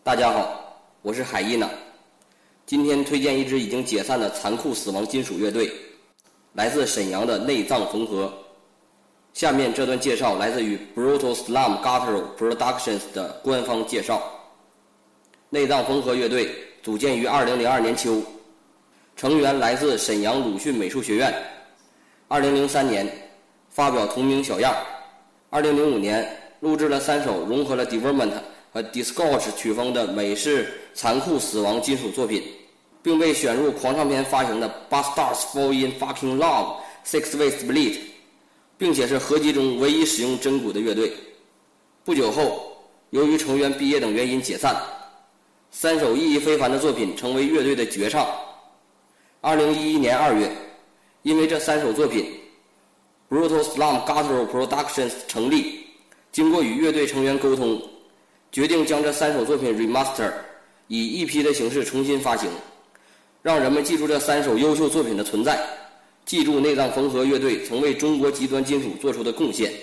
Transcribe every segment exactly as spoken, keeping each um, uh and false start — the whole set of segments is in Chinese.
大家好，我是海伊娜。今天推荐一支已经解散的残酷死亡金属乐队，来自沈阳的内脏缝合。下面这段介绍来自于 Brutal Slum Guttural Productions 的官方介绍。内脏缝合乐队组建于二零零二年秋，成员来自沈阳鲁迅美术学院。二零零三年发表同名小样。二零零五年录制了三首融合了 Development 和 Disgorge 曲风的美式残酷死亡金属作品，并被选入狂唱片发行的 Bastards Fall in Fucking Love Six Way Split， 并且是合集中唯一使用真鼓的乐队。不久后，由于成员毕业等原因解散，三首意义非凡的作品成为乐队的绝唱。二零一一年二月，因为这三首作品 Brutal Slum Guttural Productions 成立，经过与乐队成员沟通，决定将这三首作品 remaster 以 E P 的形式重新发行，让人们记住这三首优秀作品的存在，记住内脏缝合乐队曾为中国极端金属做出的贡献。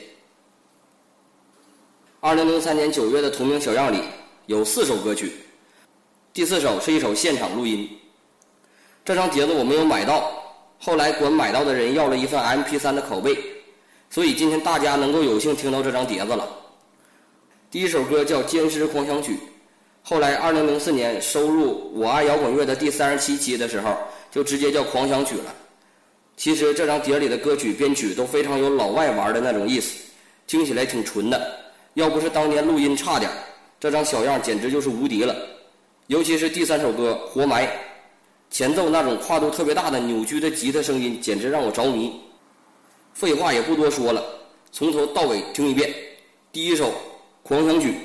二零零三年九月的同名小样里有四首歌曲，第四首是一首现场录音。这张碟子我没有买到，后来管买到的人要了一份 M P 三 的拷贝，所以今天大家能够有幸听到这张碟子了。第一首歌叫《奸尸狂想曲》，后来二零零四年收入我爱摇滚乐的第三十七期的时候就直接叫狂想曲了。其实这张碟里的歌曲编曲都非常有老外玩的那种意思，听起来挺纯的，要不是当年录音差点，这张小样简直就是无敌了。尤其是第三首歌《活埋》，前奏那种跨度特别大的扭曲的吉他声音简直让我着迷。废话也不多说了，从头到尾听一遍。第一首狂想曲。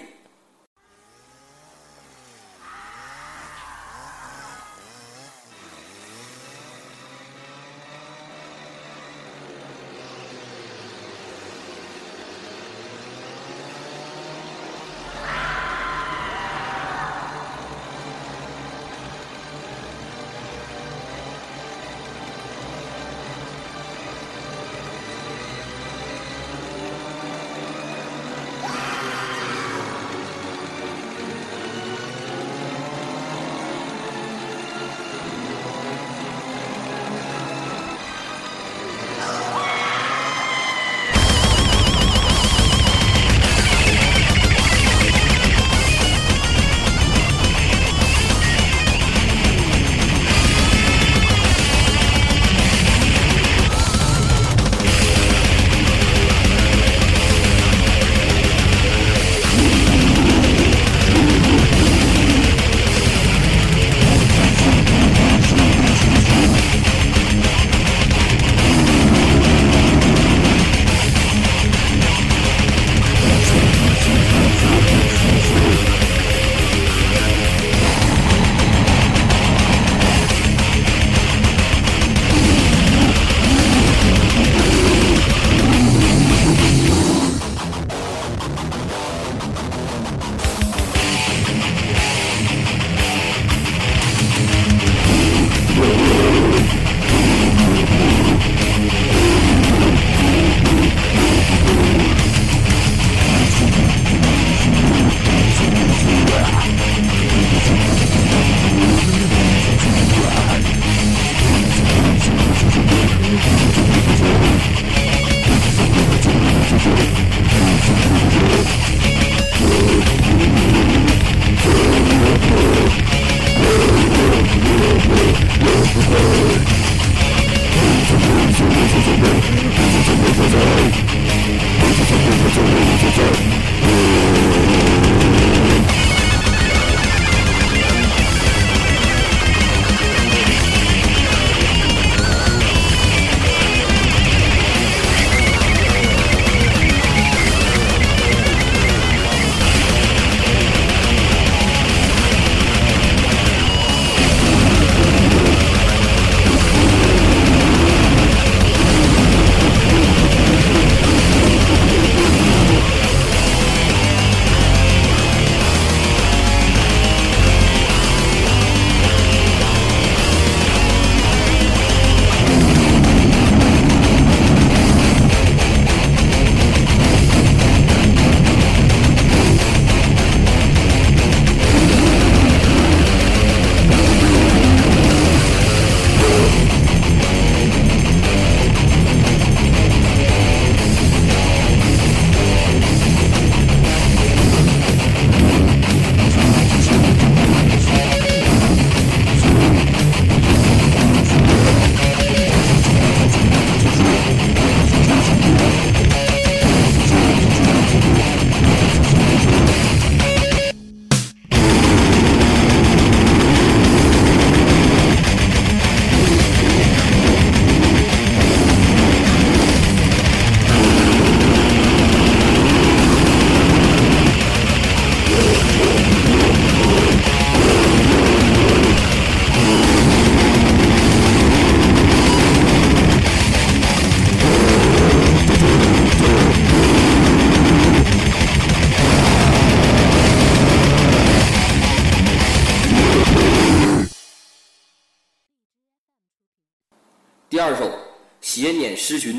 第二首《斜辇诗群》。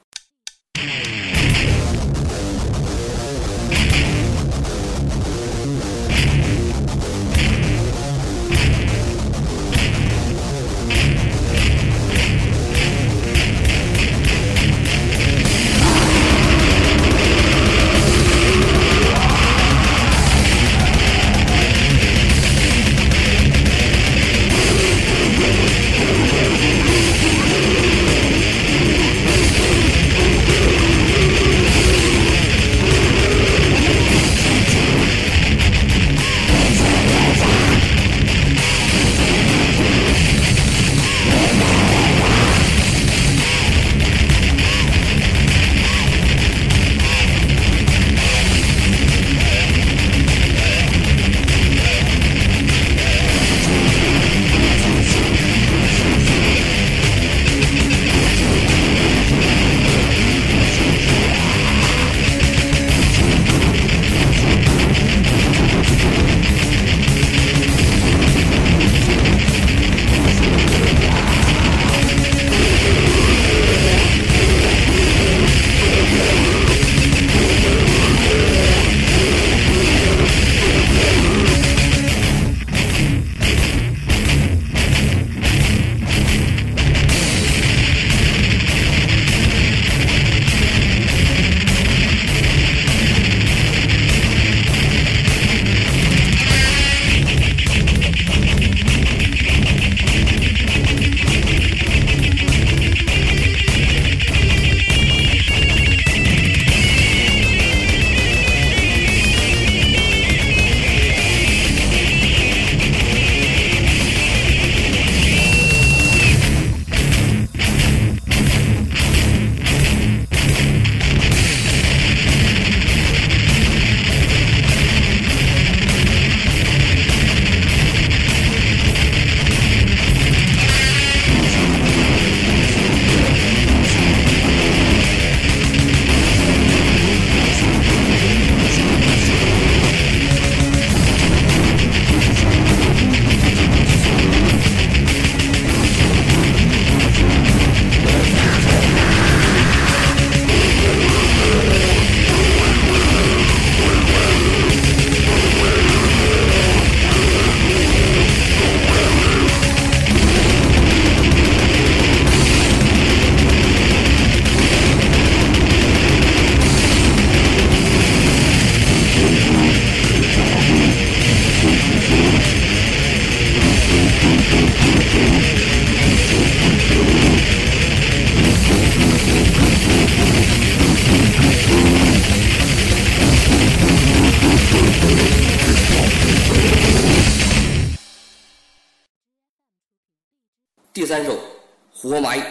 第三首《活埋》。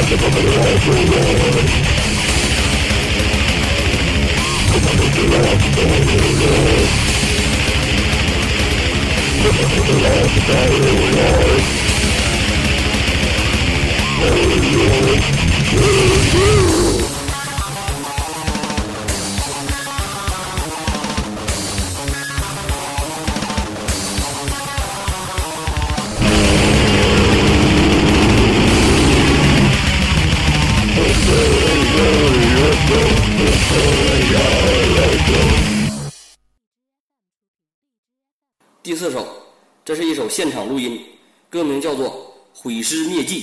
第四首，这是一首现场录音，歌名叫做《毁尸灭迹》。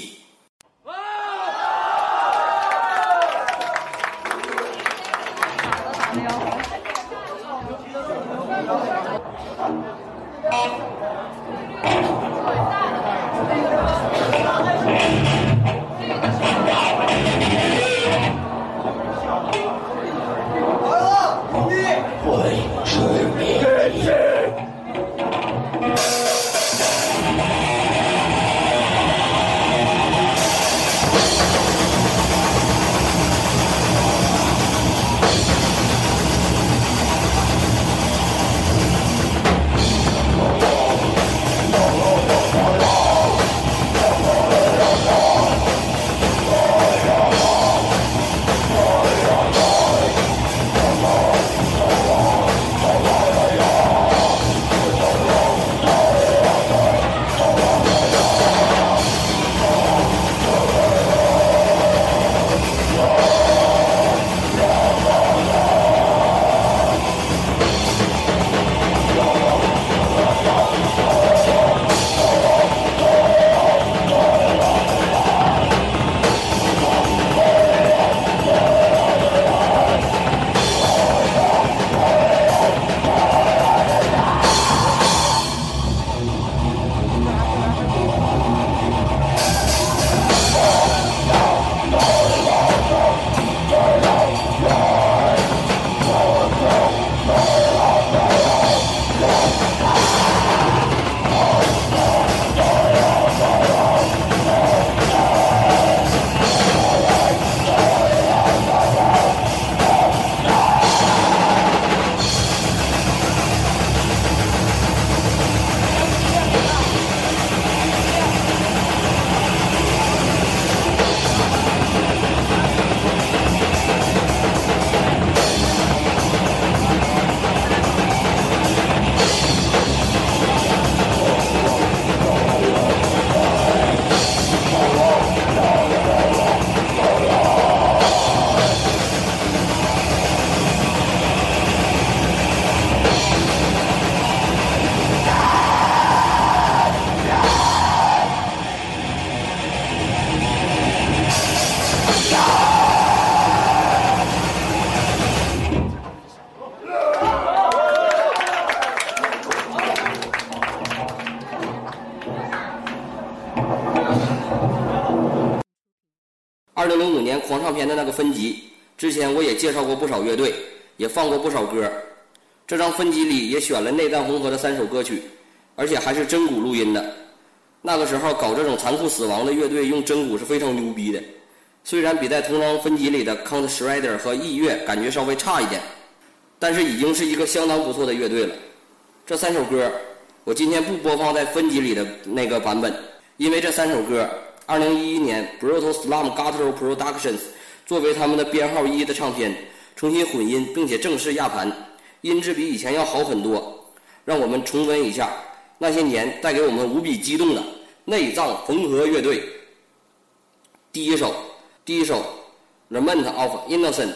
二零零五年狂唱片的那个分级，之前我也介绍过不少乐队，也放过不少歌。这张分级里也选了内脏缝合的三首歌曲，而且还是真鼓录音的。那个时候搞这种残酷死亡的乐队用真鼓是非常牛逼的，虽然比在同张分级里的 Count Shredder 和异乐感觉稍微差一点，但是已经是一个相当不错的乐队了。这三首歌我今天不播放在分级里的那个版本，因为这三首歌二零一一年 Brutal Slum Guttural Productions 作为他们的编号一的唱片重新混音并且正式压盘，音质比以前要好很多。让我们重温一下那些年带给我们无比激动的内脏缝合乐队。第一首第一首 Lament of Innocent。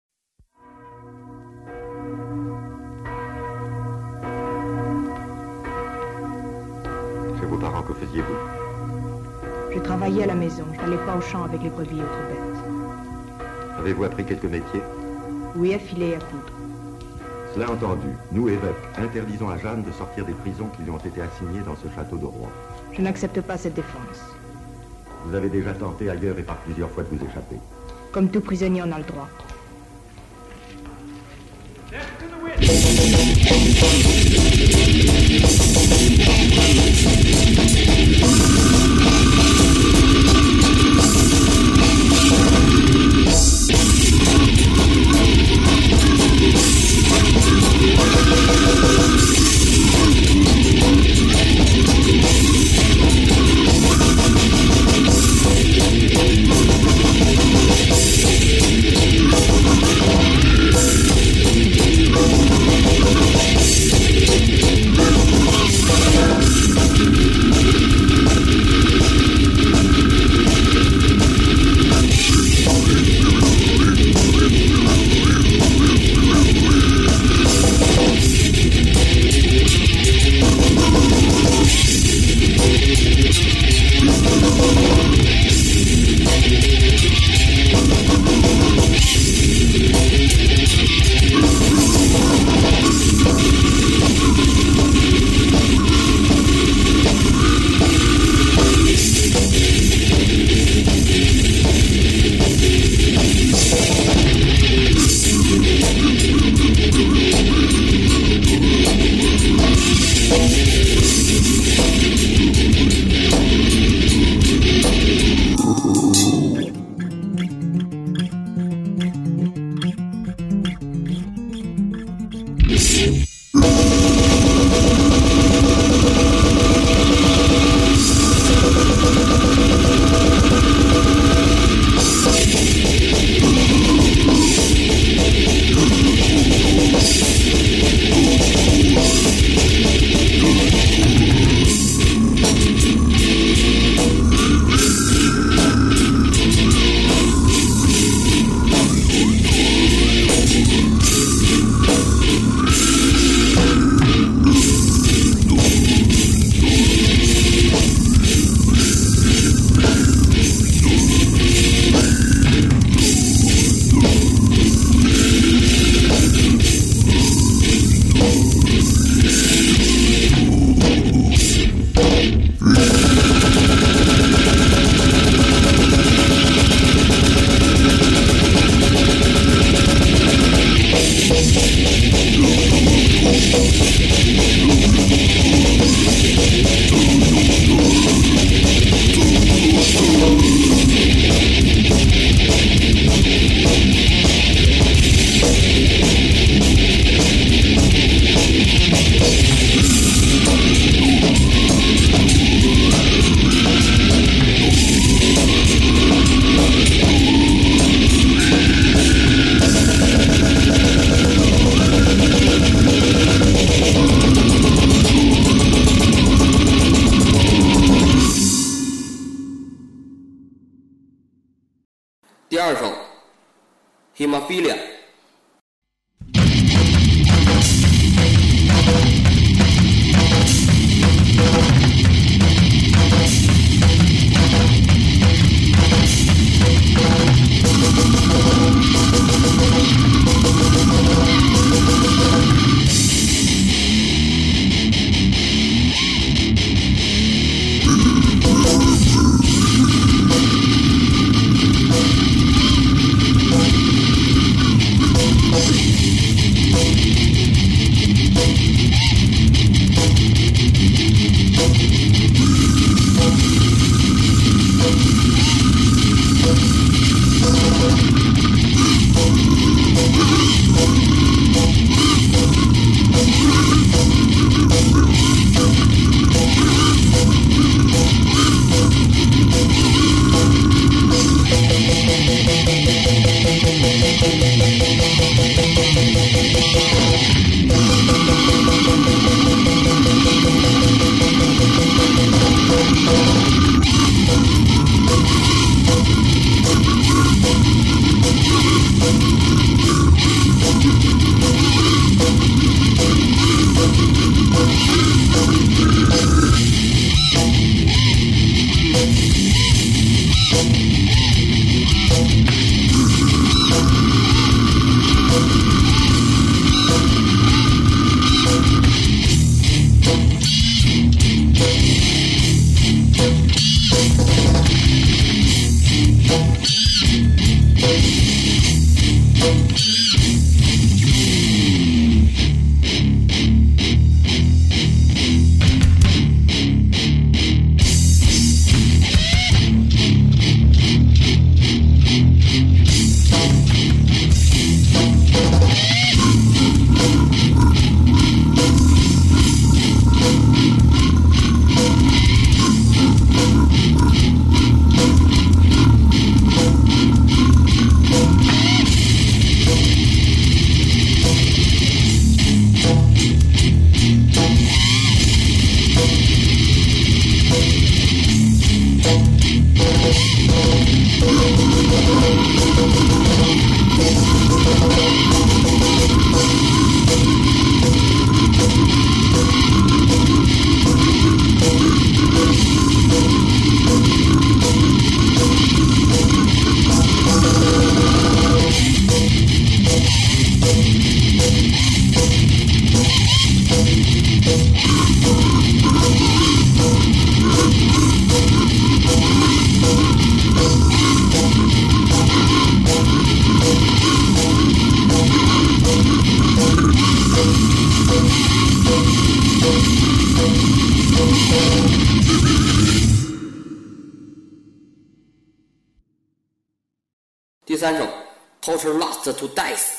Chez vos parents, que faisiez-vous? Je travaillais à la maison, je n'allais pas au champ avec les brebis et autres bêtes. Avez-vous appris quelques métiers? Oui, à filer et à coudre. Cela entendu, nous, évêques, interdisons à Jeanne de sortir des prisons qui lui ont été assignées dans ce château de Rouen. Je n'accepte pas cette défense. Vous avez déjà tenté ailleurs et par plusieurs fois de vous échapper. Comme tout prisonnier, on a le droit. hemophilia。第三首 Torture Lost to Dice。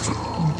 une